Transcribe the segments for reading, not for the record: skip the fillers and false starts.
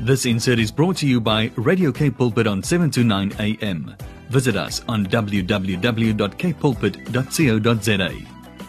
This insert is brought to you by Radio Cape Pulpit on 7 to 9 a.m. Visit us on www.capepulpit.co.za.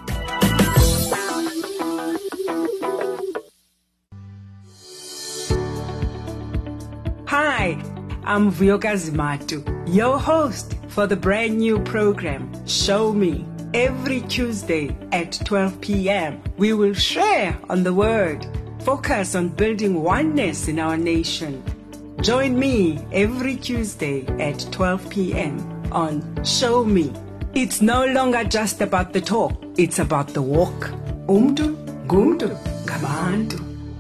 Hi, I'm Vuyokazi Matu, your host for the brand new program, Show Me. Every Tuesday at 12 p.m., we will share on the Word, focus on building oneness in our nation. Join me every Tuesday at 12 p.m. on Show Me. It's no longer just about the talk, it's about the walk. Umdu, gumdu, gabantu.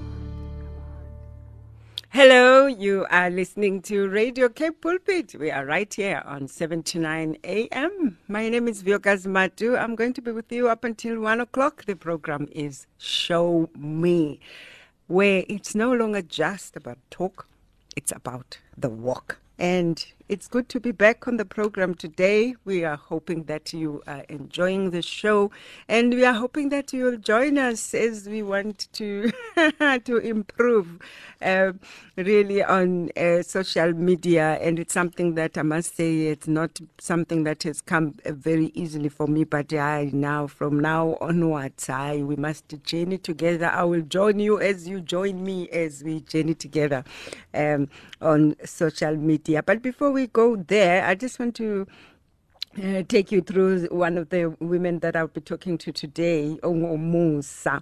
Hello, you are listening to Radio Cape Pulpit. We are right here on 7 to 9 a.m. My name is Vuyokazi Matu. I'm going to be with you up until 1 o'clock. The program is Show Me, where it's no longer just about talk, it's about the walk. And it's good to be back on the program today. We are hoping that you are enjoying the show, and we are hoping that you will join us as we want to to improve really on social media. And it's something that I must say, it's not something that has come very easily for me, but from now onwards, we must journey together. I will join you as you join me as we journey together on social media. But before we go there, I just want to take you through one of the women that I'll be talking to today, Musa.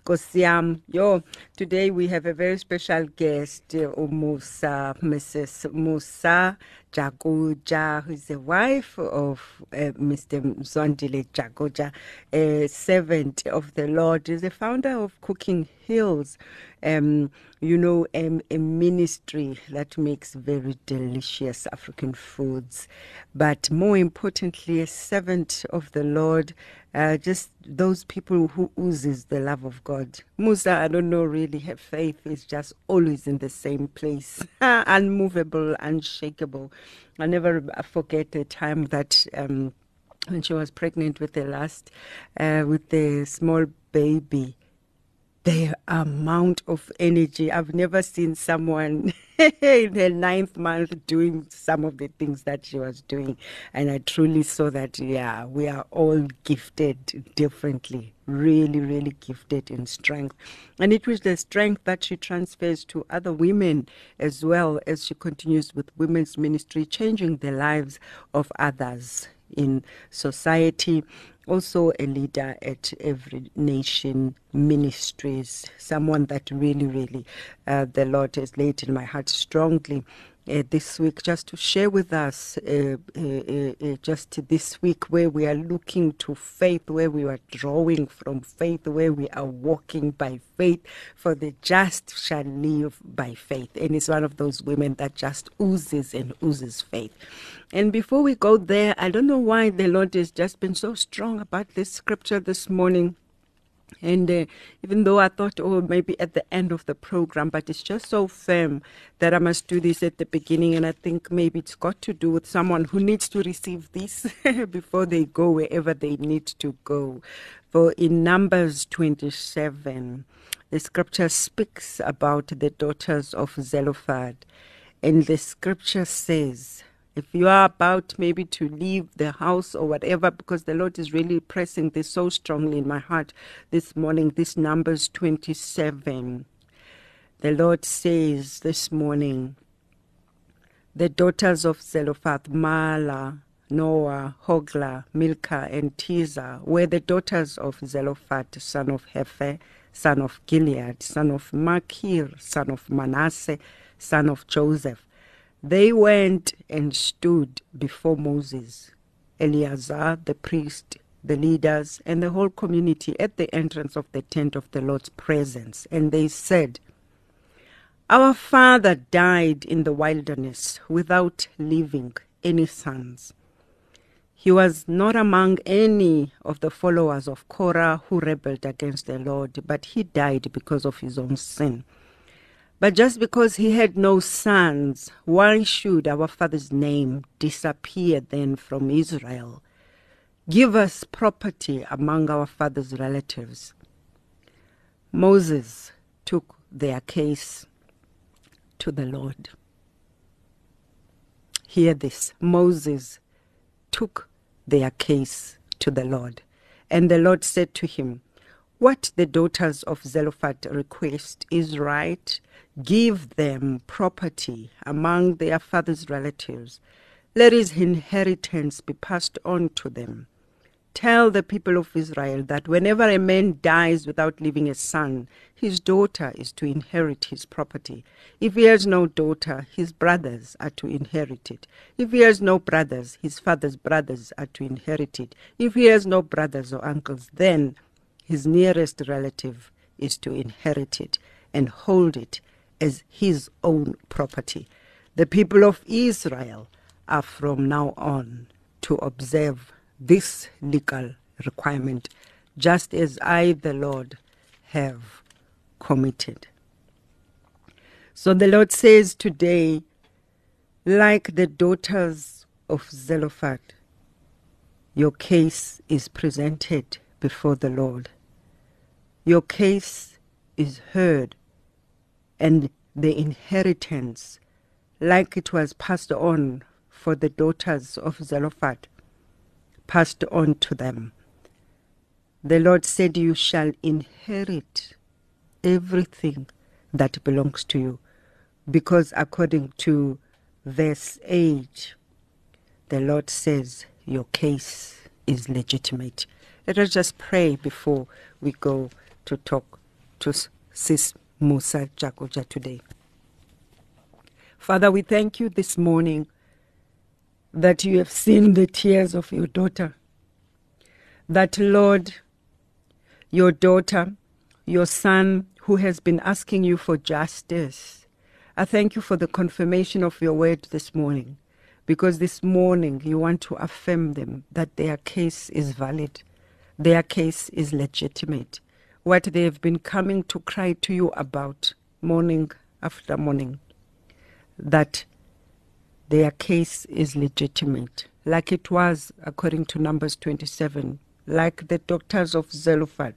Today we have a very special guest, Musa, Mrs. Musa Jagoja, who is the wife of Mr. Mzwandile Jagoja, a servant of the Lord. Is the founder of Cooking Hills, a ministry that makes very delicious African foods. But more importantly, a servant of the Lord, just those people who oozes the love of God. Musa, I don't know really, her faith is just always in the same place, unmovable, unshakable. I never forget the time that when she was pregnant with with the small baby, the amount of energy. I've never seen someone in her 9th month doing some of the things that she was doing. And I truly saw that, we are all gifted differently, really, really gifted in strength. And it was the strength that she transfers to other women as well as she continues with women's ministry, changing the lives of others in society. Also a leader at Every Nation Ministries, someone that really, really the Lord has laid in my heart strongly this week, just to share with us just this week, where we are looking to faith, where we are drawing from faith, where we are walking by faith, for the just shall live by faith. And it's one of those women that just oozes and oozes faith. And before we go there, I don't know why the Lord has just been so strong about this scripture this morning. And even though I thought, maybe at the end of the program, but it's just so firm that I must do this at the beginning. And I think maybe it's got to do with someone who needs to receive this before they go wherever they need to go. For in Numbers 27, the scripture speaks about the daughters of Zelophehad. And the scripture says, if you are about maybe to leave the house or whatever, because the Lord is really pressing this so strongly in my heart this morning, this Numbers 27. The Lord says this morning, the daughters of Zelophehad, Mala, Noah, Hogla, Milcah, and Tirzah were the daughters of Zelophehad, son of Hepher, son of Gilead, son of Machir, son of Manasseh, son of Joseph. They went and stood before Moses, Eleazar, the priest, the leaders, and the whole community at the entrance of the tent of the Lord's presence. And they said, our father died in the wilderness without leaving any sons. He was not among any of the followers of Korah who rebelled against the Lord, but he died because of his own sin. But just because he had no sons, why should our father's name disappear then from Israel? Give us property among our father's relatives. Moses took their case to the Lord. Hear this. Moses took their case to the Lord, and the Lord said to him, what the daughters of Zelophehad request is right. Give them property among their father's relatives. Let his inheritance be passed on to them. Tell the people of Israel that whenever a man dies without leaving a son, his daughter is to inherit his property. If he has no daughter, his brothers are to inherit it. If he has no brothers, his father's brothers are to inherit it. If he has no brothers or uncles, then his nearest relative is to inherit it and hold it as his own property. The people of Israel are from now on to observe this legal requirement, just as I, the Lord, have committed. So the Lord says today, like the daughters of Zelophehad, your case is presented before the Lord. Your case is heard, and the inheritance, like it was passed on for the daughters of Zelophehad, passed on to them. The Lord said, you shall inherit everything that belongs to you, because according to verse 8, the Lord says your case is legitimate. Let us just pray before we go to talk to Sis Musa Jagoja today. Father, we thank you this morning that you have seen the tears of your daughter. That, Lord, your daughter, your son, who has been asking you for justice, I thank you for the confirmation of your word this morning, because this morning you want to affirm them that their case is valid, their case is legitimate. What they have been coming to cry to you about morning after morning, that their case is legitimate, like it was according to Numbers 27, like the daughters of Zelophehad.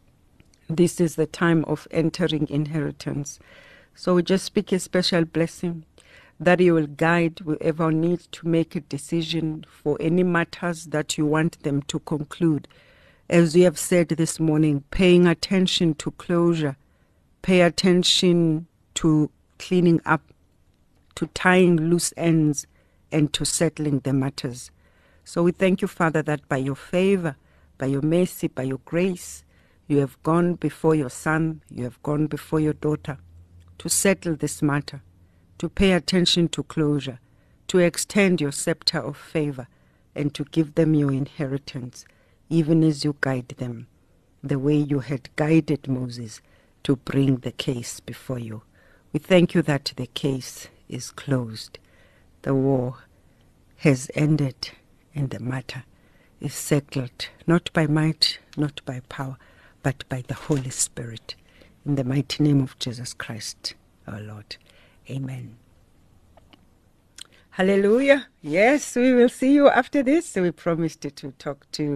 This is the time of entering inheritance. So we just speak a special blessing that you will guide whoever needs to make a decision for any matters that you want them to conclude. As we have said this morning, paying attention to closure, pay attention to cleaning up, to tying loose ends, and to settling the matters. So we thank you, Father, that by your favor, by your mercy, by your grace, you have gone before your son, you have gone before your daughter to settle this matter, to pay attention to closure, to extend your scepter of favor, and to give them your inheritance, even as you guide them, the way you had guided Moses to bring the case before you. We thank you that the case is closed. The war has ended, and the matter is settled, not by might, not by power, but by the Holy Spirit. In the mighty name of Jesus Christ, our Lord. Amen. Hallelujah. Yes, we will see you after this. So we promised to talk to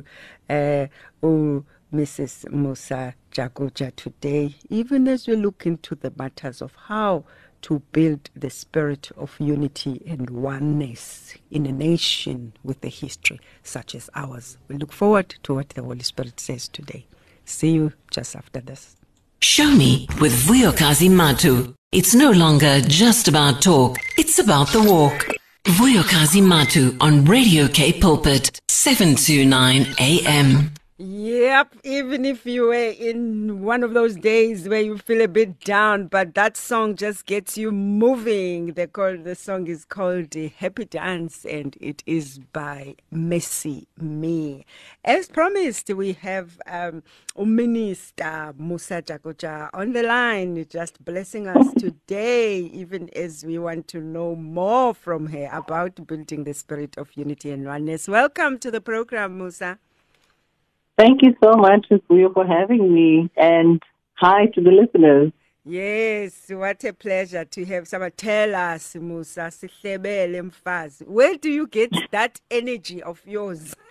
Mrs. Musa Jagoja today, even as we look into the matters of how to build the spirit of unity and oneness in a nation with a history such as ours. We look forward to what the Holy Spirit says today. See you just after this. Show Me with Vuyokazi Matu. It's no longer just about talk, it's about the walk. Vuyokazi Matu on Radio K Pulpit, 729 AM. Yep, even if you were in one of those days where you feel a bit down, but that song just gets you moving. The song is called Happy Dance, and it is by Mercy Me. As promised, we have Minister Musa Jagoja on the line, just blessing us today, even as we want to know more from her about building the spirit of unity and oneness. Welcome to the program, Musa. Thank you so much, Fuyo, for having me, and hi to the listeners. Yes, what a pleasure to have someone. Tell us, Musa, where do you get that energy of yours?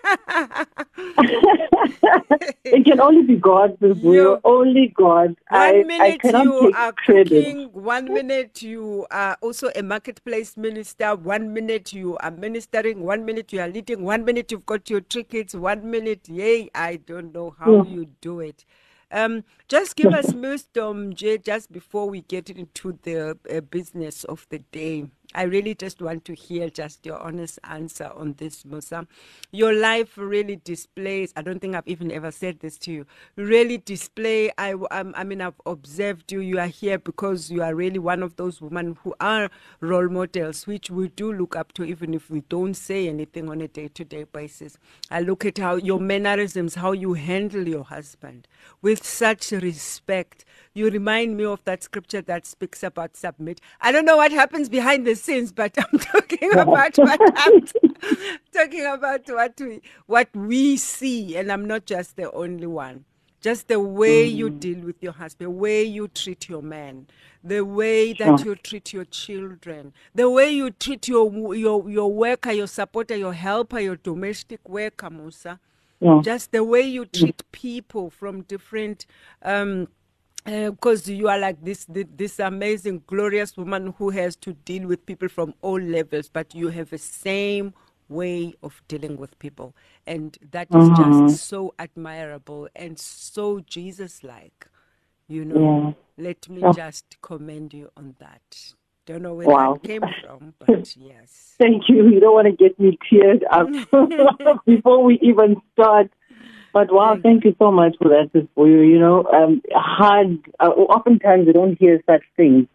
It can only be God, Sibuyo. Only God. I cannot you take are credit. cooking, 1 minute you are also a marketplace minister, 1 minute you are ministering, 1 minute you are leading, 1 minute you've got your tickets, 1 minute, yay, I don't know how you do it. Just give us wisdom, Jay, just before we get into the business of the day. I really just want to hear just your honest answer on this, Musa. Your life really displays, I don't think I've even ever said this to you, really display, I mean, I've observed you. You are here because you are really one of those women who are role models, which we do look up to, even if we don't say anything on a day-to-day basis. I look at how your mannerisms, how you handle your husband with such respect. You remind me of that scripture that speaks about submit. I don't know what happens behind the scenes, but I'm talking about what we see, and I'm not just the only one. Just the way you deal with your husband, the way you treat your man, the way that you treat your children, the way you treat your worker, your supporter, your helper, your domestic worker, Musa. Just the way you treat people from different because you are like this amazing, glorious woman who has to deal with people from all levels, but you have the same way of dealing with people. And that is just so admirable and so Jesus-like. You know, let me just commend you on that. Don't know where that came from, but yes. Thank you. You don't want to get me teared up before we even start. But wow, thank you so much for that, Sibuyo. You know, oftentimes we don't hear such things.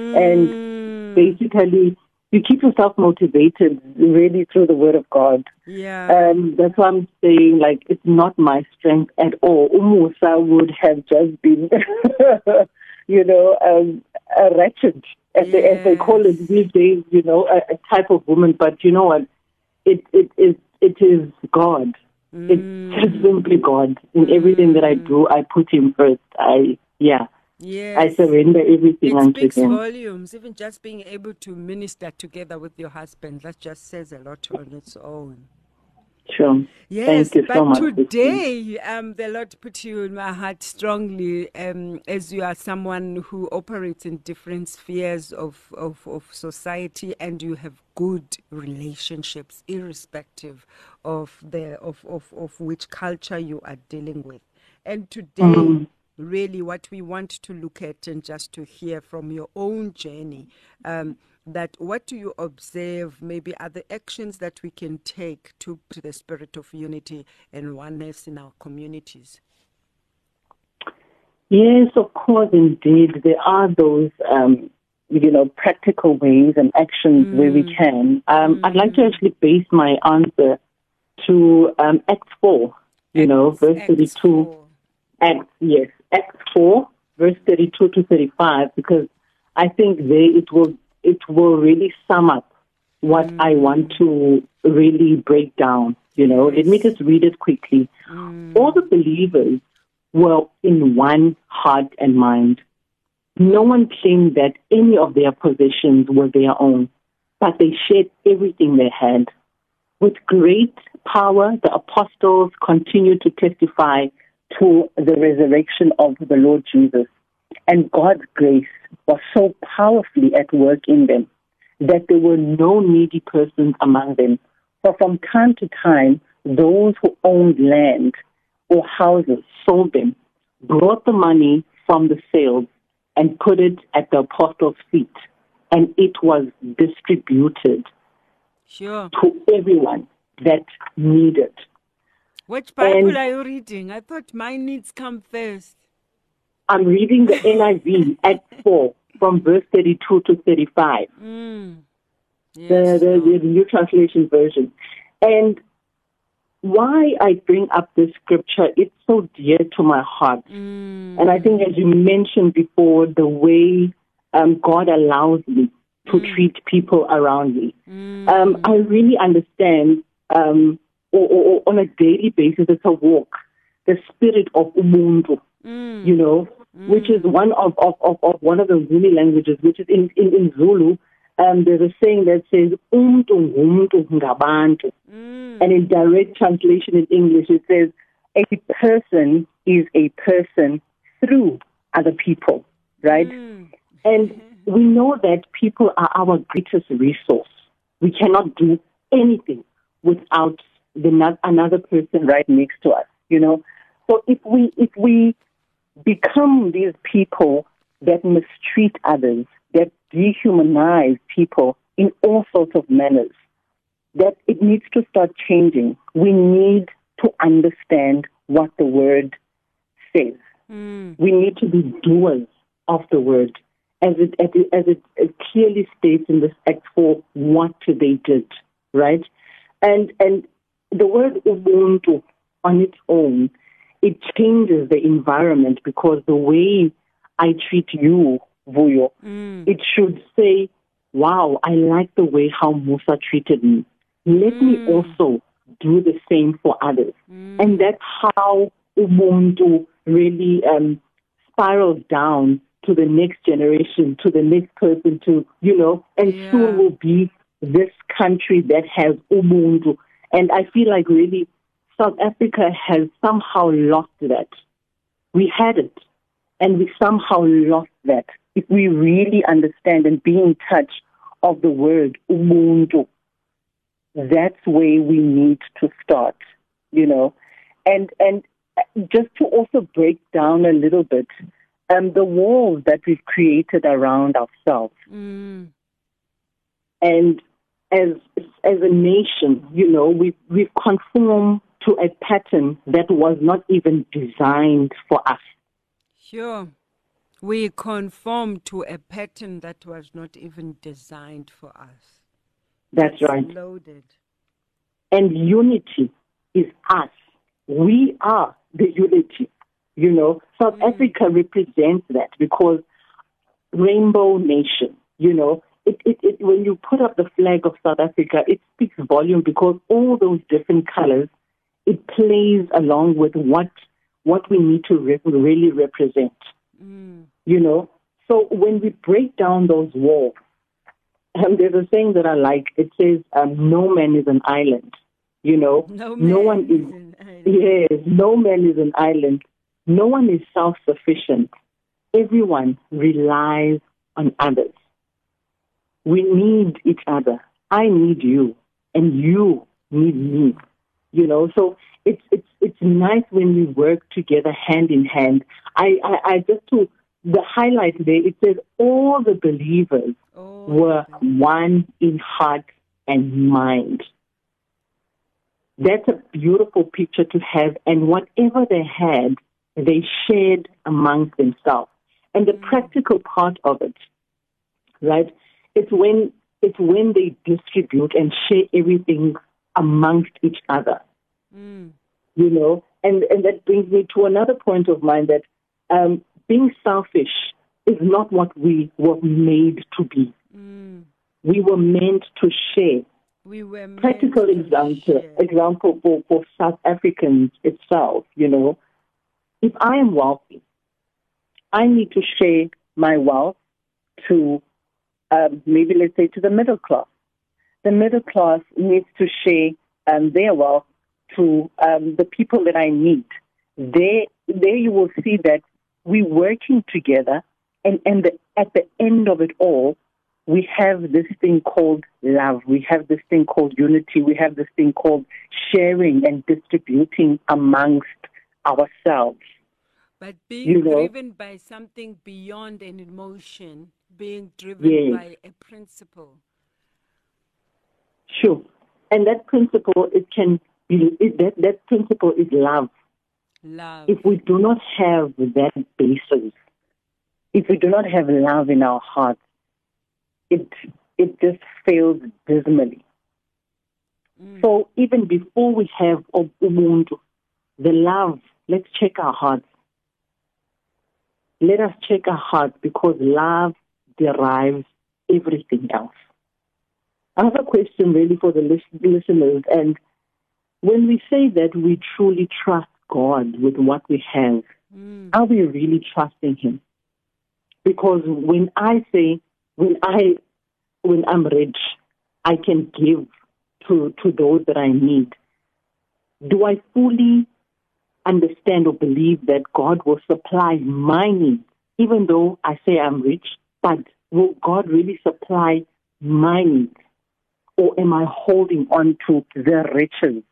And basically, you keep yourself motivated really through the Word of God. Yeah. That's why I'm saying, like, it's not my strength at all. Umusa would have just been, you know, a wretched, as they call it these days, you know, a type of woman. But you know what? It is God. It's just simply God. In everything that I do, I put Him first. I surrender everything unto Him. It speaks volumes. Even just being able to minister together with your husband, that just says a lot on its own. Sure. Yes, Thank you so much. But today, the Lord put you in my heart strongly, as you are someone who operates in different spheres of society, and you have good relationships, irrespective of which culture you are dealing with. And today, really, what we want to look at and just to hear from your own journey. That what do you observe maybe are the actions that we can take to the spirit of unity and oneness in our communities? Yes, of course, indeed. There are those, practical ways and actions where we can. I'd like to actually base my answer to Acts 4, verse 32. Acts 4, verse 32 to 35, because I think it will really sum up what I want to really break down. Let me just read it quickly. All the believers were in one heart and mind. No one claimed that any of their possessions were their own, but they shared everything they had. With great power, the apostles continued to testify to the resurrection of the Lord Jesus. And God's grace was so powerfully at work in them that there were no needy persons among them. For from time to time, those who owned land or houses sold them, brought the money from the sales, and put it at the apostles' feet. And it was distributed to everyone that needed. Which Bible are you reading? I thought my needs come first. I'm reading the NIV at 4 from verse 32 to 35. Yes, the New Translation Version. And why I bring up this scripture, it's so dear to my heart. And I think, as you mentioned before, the way God allows me to treat people around me. I really understand, or on a daily basis, it's a walk, the spirit of umuntu, which is one of the Zulu languages, which is in Zulu, there's a saying that says, umntu ngumntu ngabantu. And in direct translation in English, it says, a person is a person through other people, right? And we know that people are our greatest resource. We cannot do anything without another person right next to us, you know. So if we become these people that mistreat others, that dehumanize people in all sorts of manners, that it needs to start changing. We need to understand what the word says. We need to be doers of the word, as it clearly states in this Act 4 what they did, right? And the word ubuntu on its own, it changes the environment, because the way I treat you, Vuyo, it should say, wow, I like the way how Musa treated me. Let me also do the same for others. And that's how ubuntu really spirals down to the next generation, to the next person, to, you know, and soon will be this country that has ubuntu. And I feel like really South Africa has somehow lost that. We had it, and we somehow lost that. If we really understand and be in touch of the word ubuntu, that's where we need to start, you know. And just to also break down a little bit, the walls that we've created around ourselves. And as a nation, you know, we've conformed to a pattern that was not even designed for us. Sure. We conform to a pattern that was not even designed for us. That's right. Loaded. And unity is us. We are the unity. You know, South Africa represents that, because Rainbow Nation, you know, it when you put up the flag of South Africa, it speaks volume, because all those different colors, it plays along with what we need to really represent. You know, so when we break down those walls, there's a saying that I like. It says, no man is an island. You know, no one is an island. Yes, no man is an island. No one is self-sufficient. Everyone relies on others. We need each other. I need you, and you need me. You know, so it's nice when we work together hand in hand. I just to the highlight there, it says all the believers were one in heart and mind. That's a beautiful picture to have, and whatever they had, they shared amongst themselves. And the practical part of it, right, it's when they distribute and share everything amongst each other. You know, and that brings me to another point of mine, that being selfish is not what we were made to be. We were meant to share. We were meant practical example for South Africans itself, you know. If I am wealthy, I need to share my wealth to maybe, let's say, to the middle class. The middle class needs to share their wealth to the people that I need. There you will see that we're working together, and at the end of it all, we have this thing called love. We have this thing called unity. We have this thing called sharing and distributing amongst ourselves. But being driven by something beyond an emotion, being driven by a principle. Sure. And that principle, that principle is love. Love. If we do not have that basis, if we do not have love in our hearts, it just fails dismally. So even before we have ubuntu, the love, let's check our hearts. Let us check our hearts, because love derives everything else. I have a question really for the listeners. And when we say that we truly trust God with what we have, are we really trusting Him? Because when I when I'm rich, I can give to those that I need? Do I fully understand or believe that God will supply my needs, even though I say I'm rich, but will God really supply my needs? Or am I holding on to the riches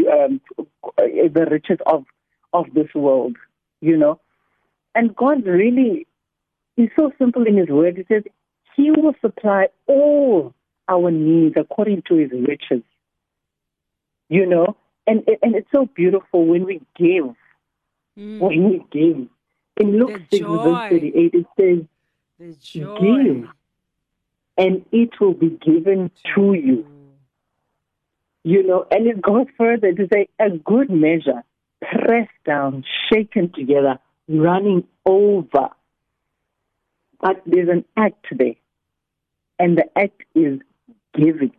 of this world, you know? And God really is so simple in His word. He says He will supply all our needs according to His riches, you know? And it's so beautiful when we give. When we give. In Luke 6, verse 38, it says, give, and it will be given to you. You know, and it goes further to say, a good measure, pressed down, shaken together, running over. But there's an act there, and the act is giving.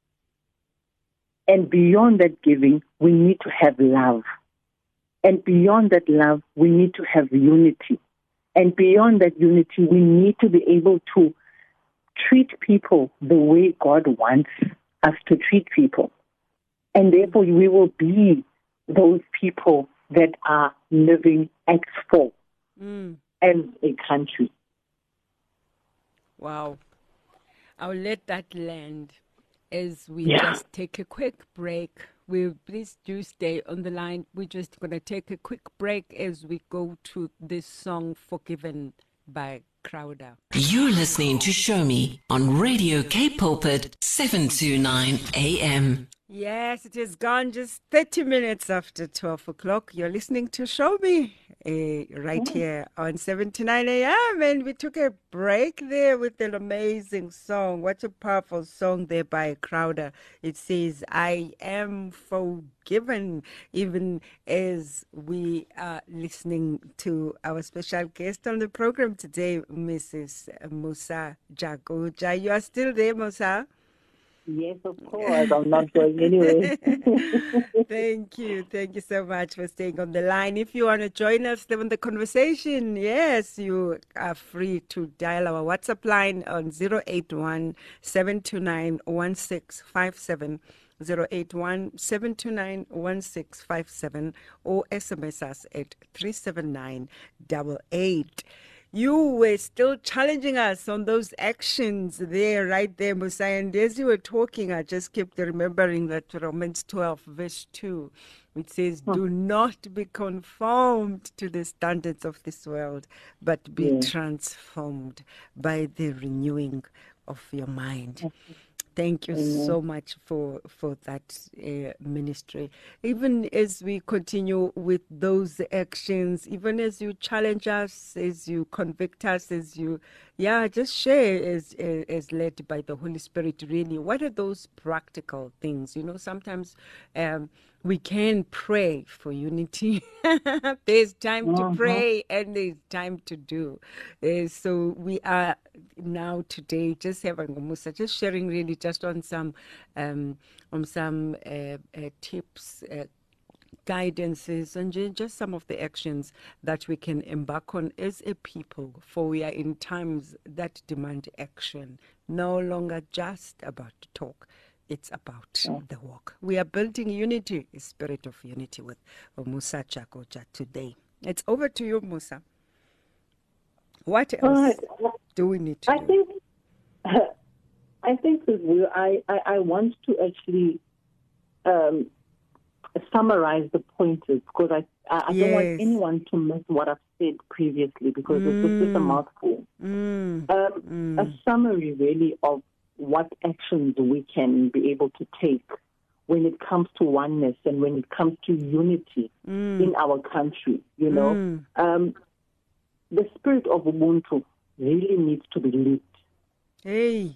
And beyond that giving, we need to have love. And beyond that love, we need to have unity. And beyond that unity, we need to be able to treat people the way God wants us to treat people. And therefore, we will be those people that are living X4 as a country. Wow. I'll let that land as we just take a quick break. Please do stay on the line. We're just going to take a quick break as we go to this song, Forgiven by Crowder. You're listening to Show Me on Radio K Pulpit, 729 AM. Yes, it is gone just 30 minutes after 12 o'clock. You're listening to Show Me right here on 729 AM. And we took a break there with an amazing song. What a powerful song there by Crowder. It says, I am forgiven, even as we are listening to our special guest on the program today, Mrs. Musa Jagoja. You are still there, Musa? Yes, of course. I'm not going anywhere. Thank you. Thank you so much for staying on the line. If you want to join us on the conversation, yes, you are free to dial our WhatsApp line on 081-729-1657, 081-729-1657, or SMS us at 37988. You were still challenging us on those actions there, right there, Musa. And as you were talking, I just kept remembering that Romans 12, verse 2, which says, do not be conformed to the standards of this world, but be transformed by the renewing of your mind. Thank you so much for that ministry. Even as we continue with those actions, even as you challenge us, as you convict us, as you, just share as led by the Holy Spirit, really. What are those practical things? You know, sometimes we can pray for unity. There's time to pray and there's time to do. So we are now today just having Musa, just sharing really just on some tips, guidances, and just some of the actions that we can embark on as a people, for we are in times that demand action, no longer just about talk. It's about the walk. We are building unity, a spirit of unity with Musa Jagoja today. It's over to you, Musa. What else do we need to do? I think I want to actually summarize the pointers, because I don't want anyone to miss what I've said previously, because it's just a mouthful. A summary really of what actions we can be able to take when it comes to oneness and when it comes to unity in our country, you know. The spirit of Ubuntu really needs to be lived. Hey.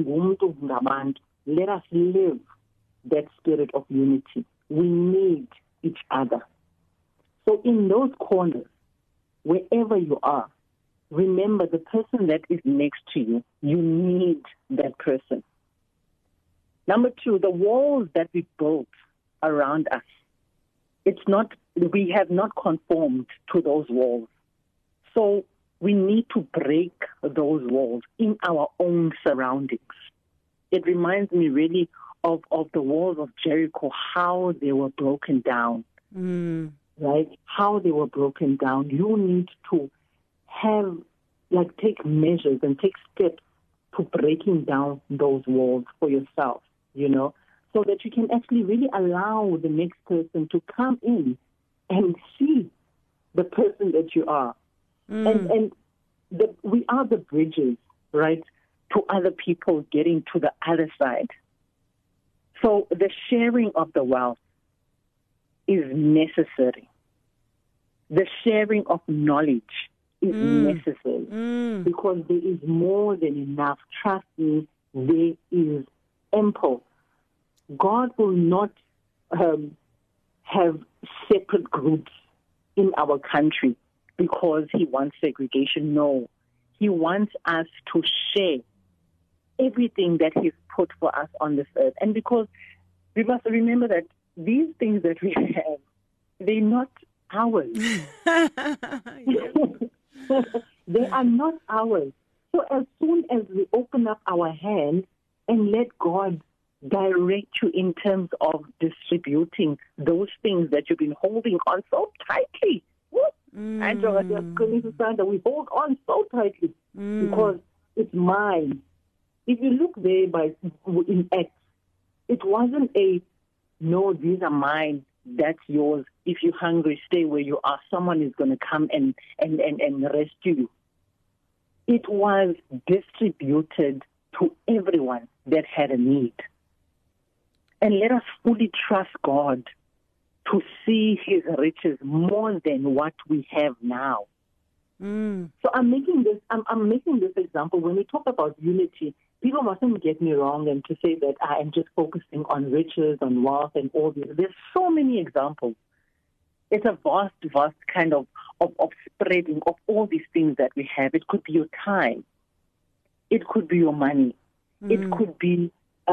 Let us live that spirit of unity. We need each other. So in those corners, wherever you are, remember the person that is next to you. You need that person. Number two, the walls that we built around us, we have not conformed to those walls. So we need to break those walls in our own surroundings. It reminds me really of the walls of Jericho, how they were broken down, right? How they were broken down. You need to take measures and take steps to breaking down those walls for yourself, so that you can actually really allow the next person to come in and see the person that you are. We are the bridges, right, to other people getting to the other side. So the sharing of the wealth is necessary. The sharing of knowledge is necessary because there is more than enough. Trust me, there is ample. God will not have separate groups in our country because he wants segregation. No, he wants us to share everything that he's put for us on this earth. And because we must remember that these things that we have, they're not ours. They are not ours. So as soon as we open up our hands and let God direct you in terms of distributing those things that you've been holding on so tightly. Andrew, just going to say that we hold on so tightly because it's mine. If you look there in Acts, it wasn't no, these are mine, that's yours. If you're hungry, stay where you are. Someone is going to come and rescue you. It was distributed to everyone that had a need. And let us fully trust God to see his riches more than what we have now. So I'm making this example. When we talk about unity, people mustn't get me wrong and to say that I am just focusing on riches, on wealth, and all this. There's so many examples. It's a vast kind of spreading of all these things that we have. It could be your time. It could be your money. It could be,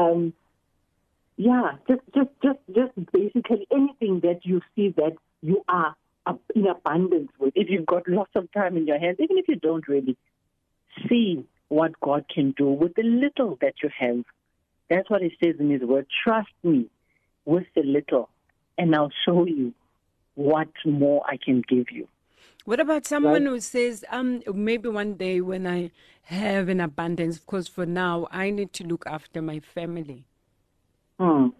just basically anything that you see that you are in abundance with. If you've got lots of time in your hands, even if you don't really see what God can do with the little that you have. That's what he says in his word. Trust me with the little, and I'll show you what more I can give you. What about someone who says, maybe one day when I have an abundance, of course, for now, I need to look after my family. I'm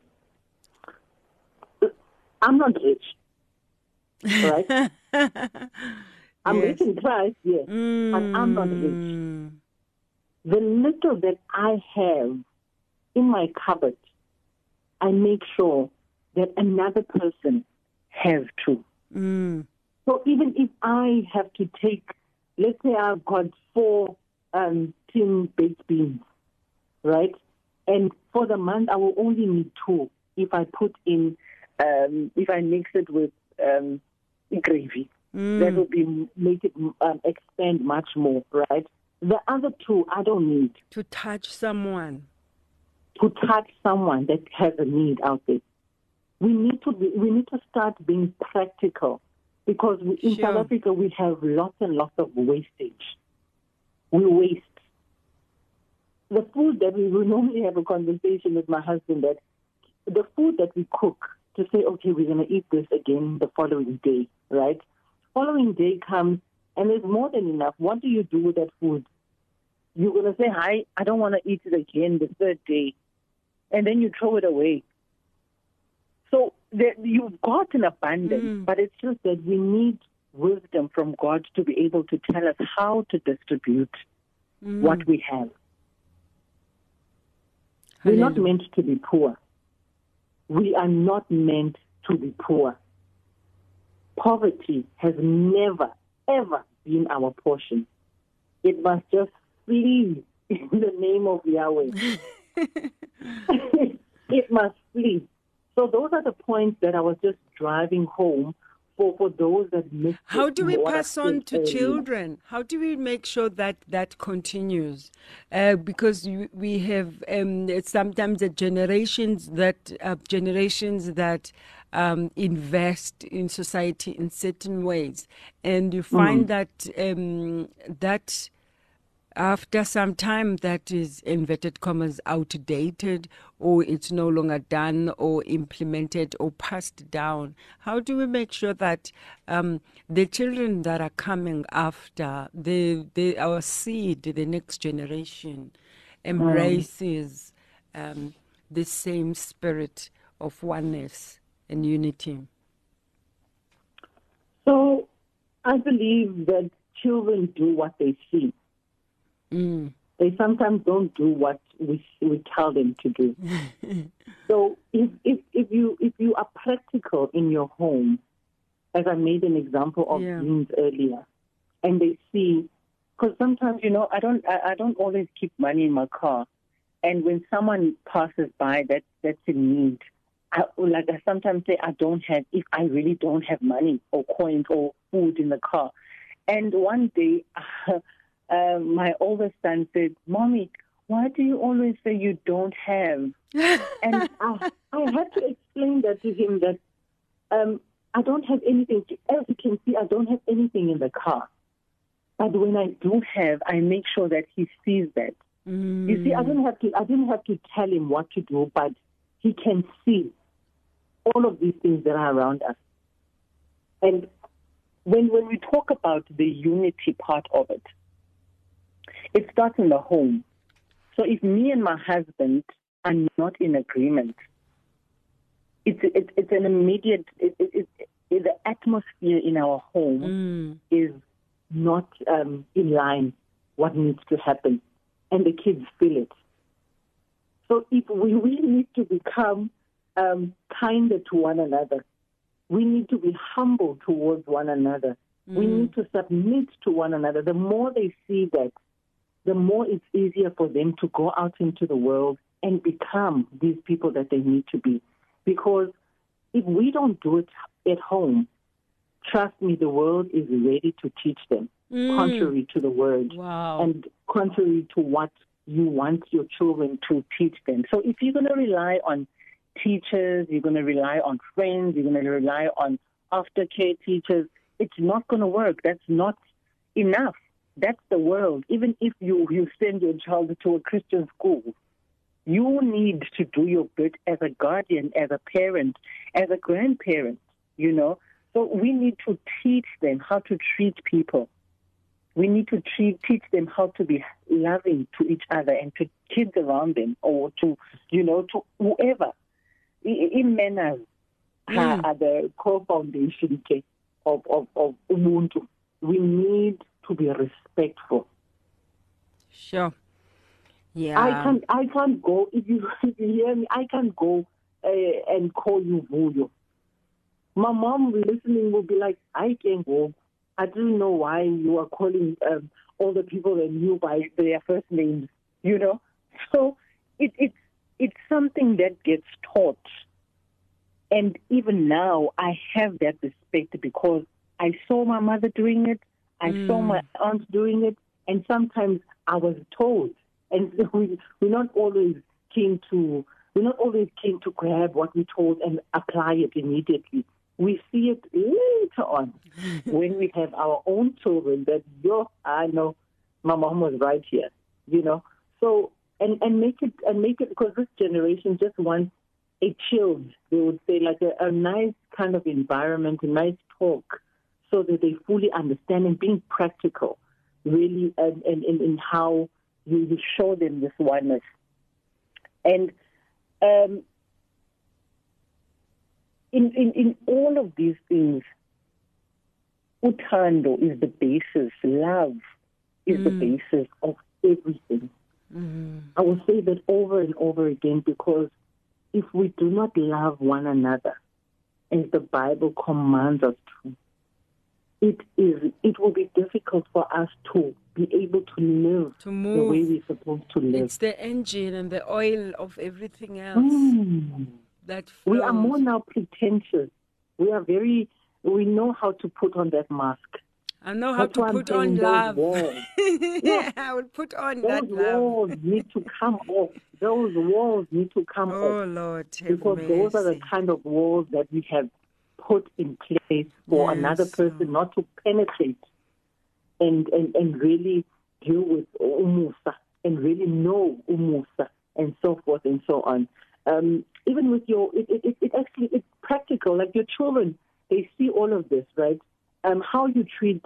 not rich, right? I'm rich in Christ, yes, but I'm not rich. The little that I have in my cupboard, I make sure that another person has too. So even if I have to take, let's say I've got 4 tin baked beans, right? And for the month, I will only need 2 if I put in, if I mix it with gravy. That will make it expand much more, right? The other 2, I don't need. To touch someone. To touch someone that has a need out there. We need to start being practical because in South Africa we have lots and lots of wastage. We waste. The food that we will normally have a conversation with my husband that the food that we cook to say, okay, we're going to eat this again the following day, right? Following day comes and there's more than enough. What do you do with that food? You're going to say, hi, I don't want to eat it again the third day. And then you throw it away. So you've got an abundance, but it's just that we need wisdom from God to be able to tell us how to distribute what we have. We're not meant to be poor. We are not meant to be poor. Poverty has never, ever been our portion. It must just flee in the name of Yahweh. It must flee. So those are the points that I was just driving home for those that miss. How do we pass on to children? How do we make sure that continues? Because we have sometimes the generations that invest in society in certain ways, and you find that after some time that is, inverted commas, outdated, or it's no longer done or implemented or passed down? How do we make sure that the children that are coming after, our seed, the next generation, embraces the same spirit of oneness and unity? So I believe that children do what they see. They sometimes don't do what we tell them to do. So if you are practical in your home, as I made an example of beans earlier, and they see, because sometimes I don't always keep money in my car, and when someone passes by that's in need, I sometimes say if I really don't have money or coins or food in the car. And one day, my oldest son said, "Mommy, why do you always say you don't have?" And I had to explain that to him that I don't have anything. As you can see, I don't have anything in the car. But when I do have, I make sure that he sees that. You see, I didn't have to tell him what to do, but he can see all of these things that are around us. And when we talk about the unity part of it, it starts in the home. So if me and my husband are not in agreement, it's an immediate. The atmosphere in our home is not in line. What needs to happen, and the kids feel it. So if we really need to become kinder to one another, we need to be humble towards one another. We need to submit to one another. The more they see that, the more it's easier for them to go out into the world and become these people that they need to be. Because if we don't do it at home, trust me, the world is ready to teach them, contrary to the word, and contrary to what you want your children to teach them. So if you're going to rely on teachers, you're going to rely on friends, you're going to rely on aftercare teachers, it's not going to work. That's not enough. That's the world. Even if you send your child to a Christian school, you need to do your bit as a guardian, as a parent, as a grandparent, So we need to teach them how to treat people. We need to teach them how to be loving to each other and to kids around them, or to whoever. In manners are the core foundation of Ubuntu. We need to be respectful. Sure. Yeah. I can't go, if you hear me, I can't go and call you Vuyo. My mom listening will be like, I can't go. I don't know why you are calling all the people that knew by their first names, So it's something that gets taught. And even now, I have that respect because I saw my mother doing it. I saw my aunt doing it. And sometimes I was told. And we're not always keen to grab what we're told and apply it immediately. We see it later on when we have our own children that, I know my mom was right here, So, and make it, because this generation just wants a chilled, they would say, like a nice kind of environment, a nice talk, so that they fully understand and being practical, really, and in how you show them this oneness. And in all of these things, uthando is the basis, love is the basis of everything. I will say that over and over again, because if we do not love one another, as the Bible commands us to, it will be difficult for us to be able to live the way we're supposed to live. It's the engine and the oil of everything else that flows. We are more now pretentious. We know how to put on that mask. I know how to put on love. I will put on that love. Those walls need to come off. Those walls need to come off. Oh, Lord, because those are the kind of walls that we have put in place for another person not to penetrate and really deal with umusa and really know umusa and so forth and so on. Even with it's practical. Like your children, they see all of this, right? How you treat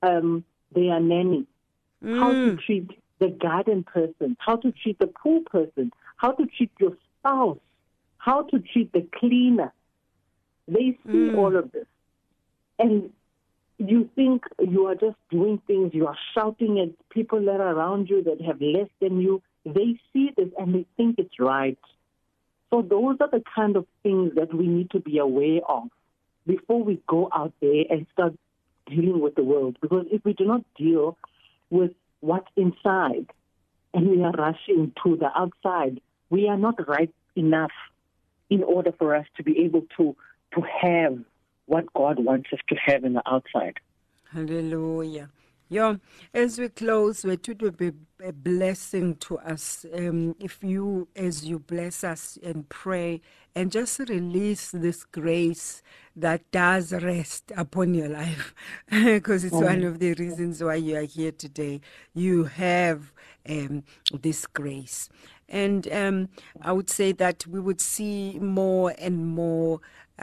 their nanny, how to treat the garden person, how to treat the pool person, how to treat your spouse, how to treat the cleaner. They see all of this. And you think you are just doing things, you are shouting at people that are around you that have less than you. They see this and they think it's right. So those are the kind of things that we need to be aware of before we go out there and start dealing with the world. Because if we do not deal with what's inside and we are rushing to the outside, we are not right enough in order for us to be able to have what God wants us to have in the outside. Hallelujah. Yeah, as we close, it would be a blessing to us if you, as you bless us and pray and just release this grace that does rest upon your life, because it's one of the reasons why you are here today. You have this grace. And I would say that we would see more and more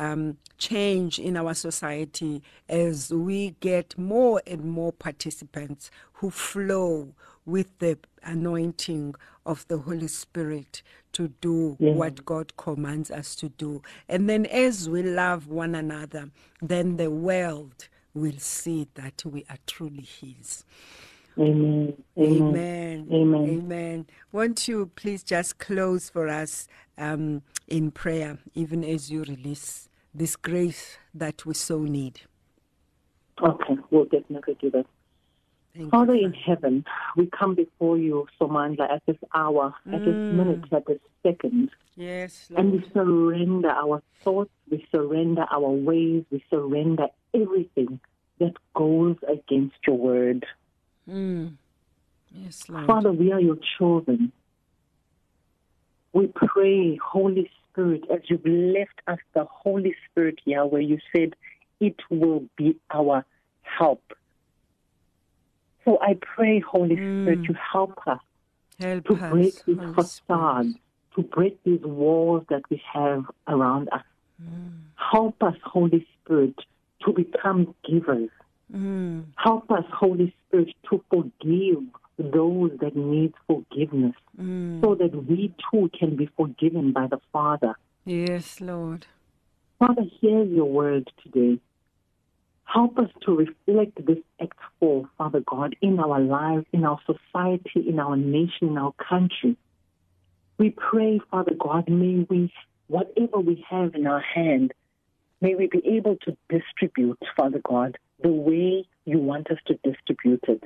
change in our society as we get more and more participants who flow with the anointing of the Holy Spirit to do what God commands us to do. And then as we love one another, then the world will see that we are truly His. Amen. Amen. Amen. Amen. Won't you please just close for us in prayer, even as you release this grace that we so need? Okay, we'll definitely do that. Father in heaven, we come before you, Somandla, at this hour, at this minute, at this second. Yes, Lord. And we surrender our thoughts, we surrender our ways, we surrender everything that goes against your word. Yes, Lord. Father, we are your children. We pray, Holy Spirit, as you've left us the Holy Spirit, Yahweh, you said it will be our help. So I pray, Holy Spirit, you help us to break these facades, to break these walls that we have around us. Help us, Holy Spirit, to become givers. Help us, Holy Spirit, to forgive those that need forgiveness, so that we too can be forgiven by the Father. Yes, Lord. Father, hear your word today. Help us to reflect this Act 4, Father God, in our lives, in our society, in our nation, in our country. We pray, Father God, may we, whatever we have in our hand, may we be able to distribute, Father God, the way you want us to distribute it.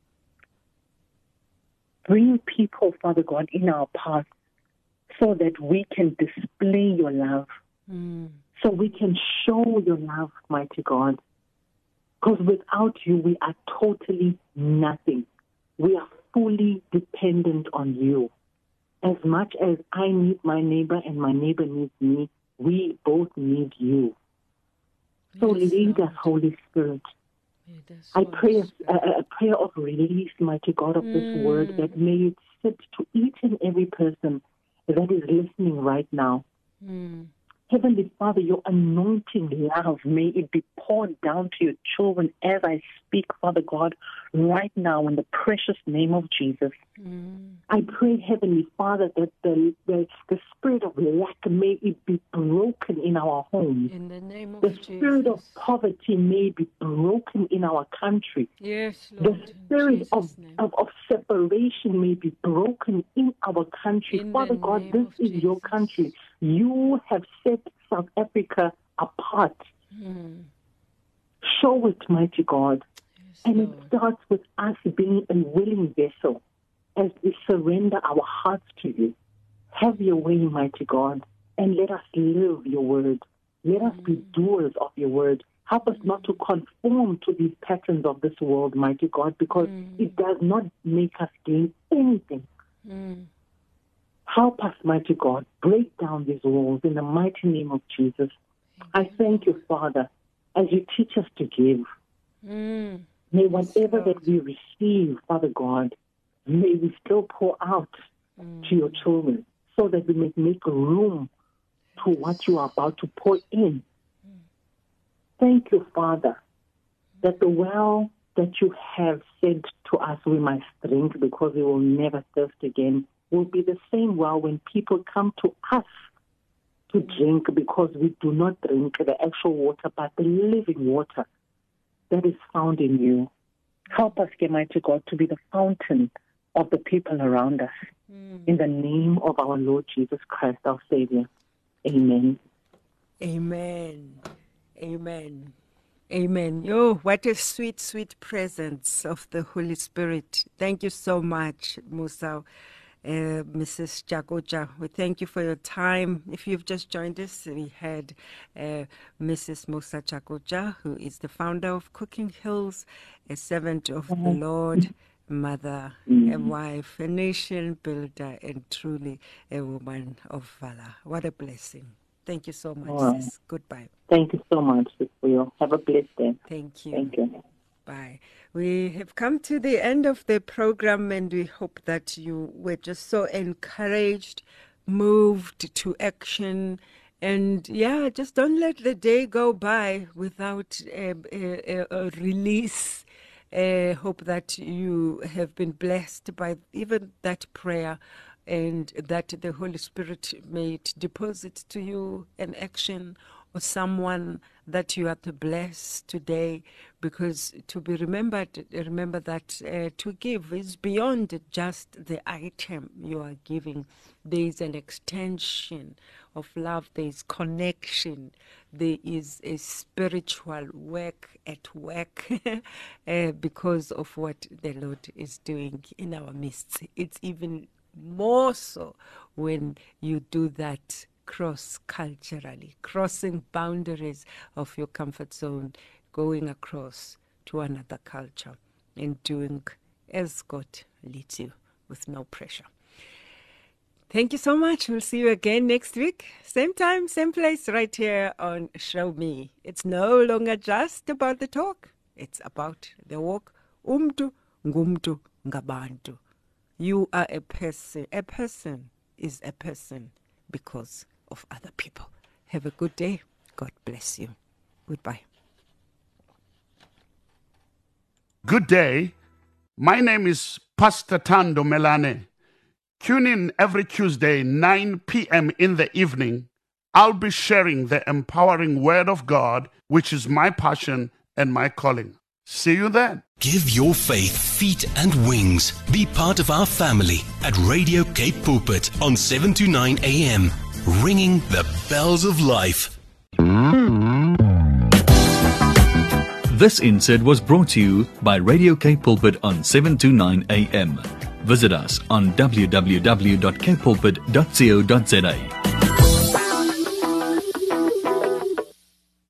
Bring people, Father God, in our path so that we can display your love, so we can show your love, mighty God. Because without you, we are totally nothing. We are fully dependent on you. As much as I need my neighbor and my neighbor needs me, we both need you. So lead us, Holy Spirit. I pray a prayer of release, mighty God, of this word, that may it sit to each and every person that is listening right now. Heavenly Father, your anointing love, may it be poured down to your children as I speak, Father God, right now in the precious name of Jesus. I pray, Heavenly Father, that the spirit of lack, may it be broken in our homes. In the name of the spirit of poverty may be broken in our country. Yes, Lord. The spirit of separation may be broken in our country. In Father the God, name this of is your Jesus. country. You have set South Africa apart. Show it, mighty God. Yes, And Lord. it starts with us being a willing vessel as we surrender our hearts to you. Have your way, mighty God, and let us live your word. Let us be doers of your word. Help us not to conform to these patterns of this world, mighty God, because it does not make us gain anything. Help us, mighty God, break down these walls in the mighty name of Jesus. I thank you, Father, as you teach us to give. May whatever that we receive, Father God, may we still pour out to your children so that we may make room to what you are about to pour in. Thank you, Father, that the well that you have sent to us we must drink because we will never thirst again will be the same well when people come to us to drink, because we do not drink the actual water but the living water that is found in you. Help us, Almighty God, to be the fountain of the people around us. In the name of our Lord Jesus Christ, our Savior. Amen. Amen. Amen. Amen. Oh, what a sweet, sweet presence of the Holy Spirit. Thank you so much, Musa. Mrs. Jagoja, we thank you for your time. If you've just joined us, we had Mrs. Musa Jagoja, who is the founder of Cooking Hills, a servant of the Lord, mother, a wife, a nation builder, and truly a woman of valor. What a blessing. Thank you so much, sis. Goodbye. Thank you so much, sis. Have a blessed day. Thank you. Thank you. Bye. We have come to the end of the program, and we hope that you were just so encouraged, moved to action, and just don't let the day go by without a release. Hope that you have been blessed by even that prayer, and that the Holy Spirit may deposit to you an action or someone that you are to bless today, because to be remembered, remember that to give is beyond just the item you are giving. There is an extension of love, there is connection, there is a spiritual work at work because of what the Lord is doing in our midst. It's even more so when you do that cross-culturally, crossing boundaries of your comfort zone, going across to another culture and doing as God leads you with no pressure. Thank you so much. We'll see you again next week. Same time, same place, right here on Show Me. It's no longer just about the talk. It's about the walk. Umtu ngumtu ngabantu. You are a person. A person is a person because of other people. Have a good day. God bless you. Goodbye. Good day. My name is Pastor Thando Melane. Tune in every Tuesday, 9 p.m. in the evening. I'll be sharing the empowering Word of God, which is my passion and my calling. See you then. Give your faith feet and wings. Be part of our family at Radio Cape Pulpit on 7 to 9 a.m. Ringing the bells of life. This insert was brought to you by Radio Cape Pulpit on 7 to 9 a.m. Visit us on www.capepulpit.co.za.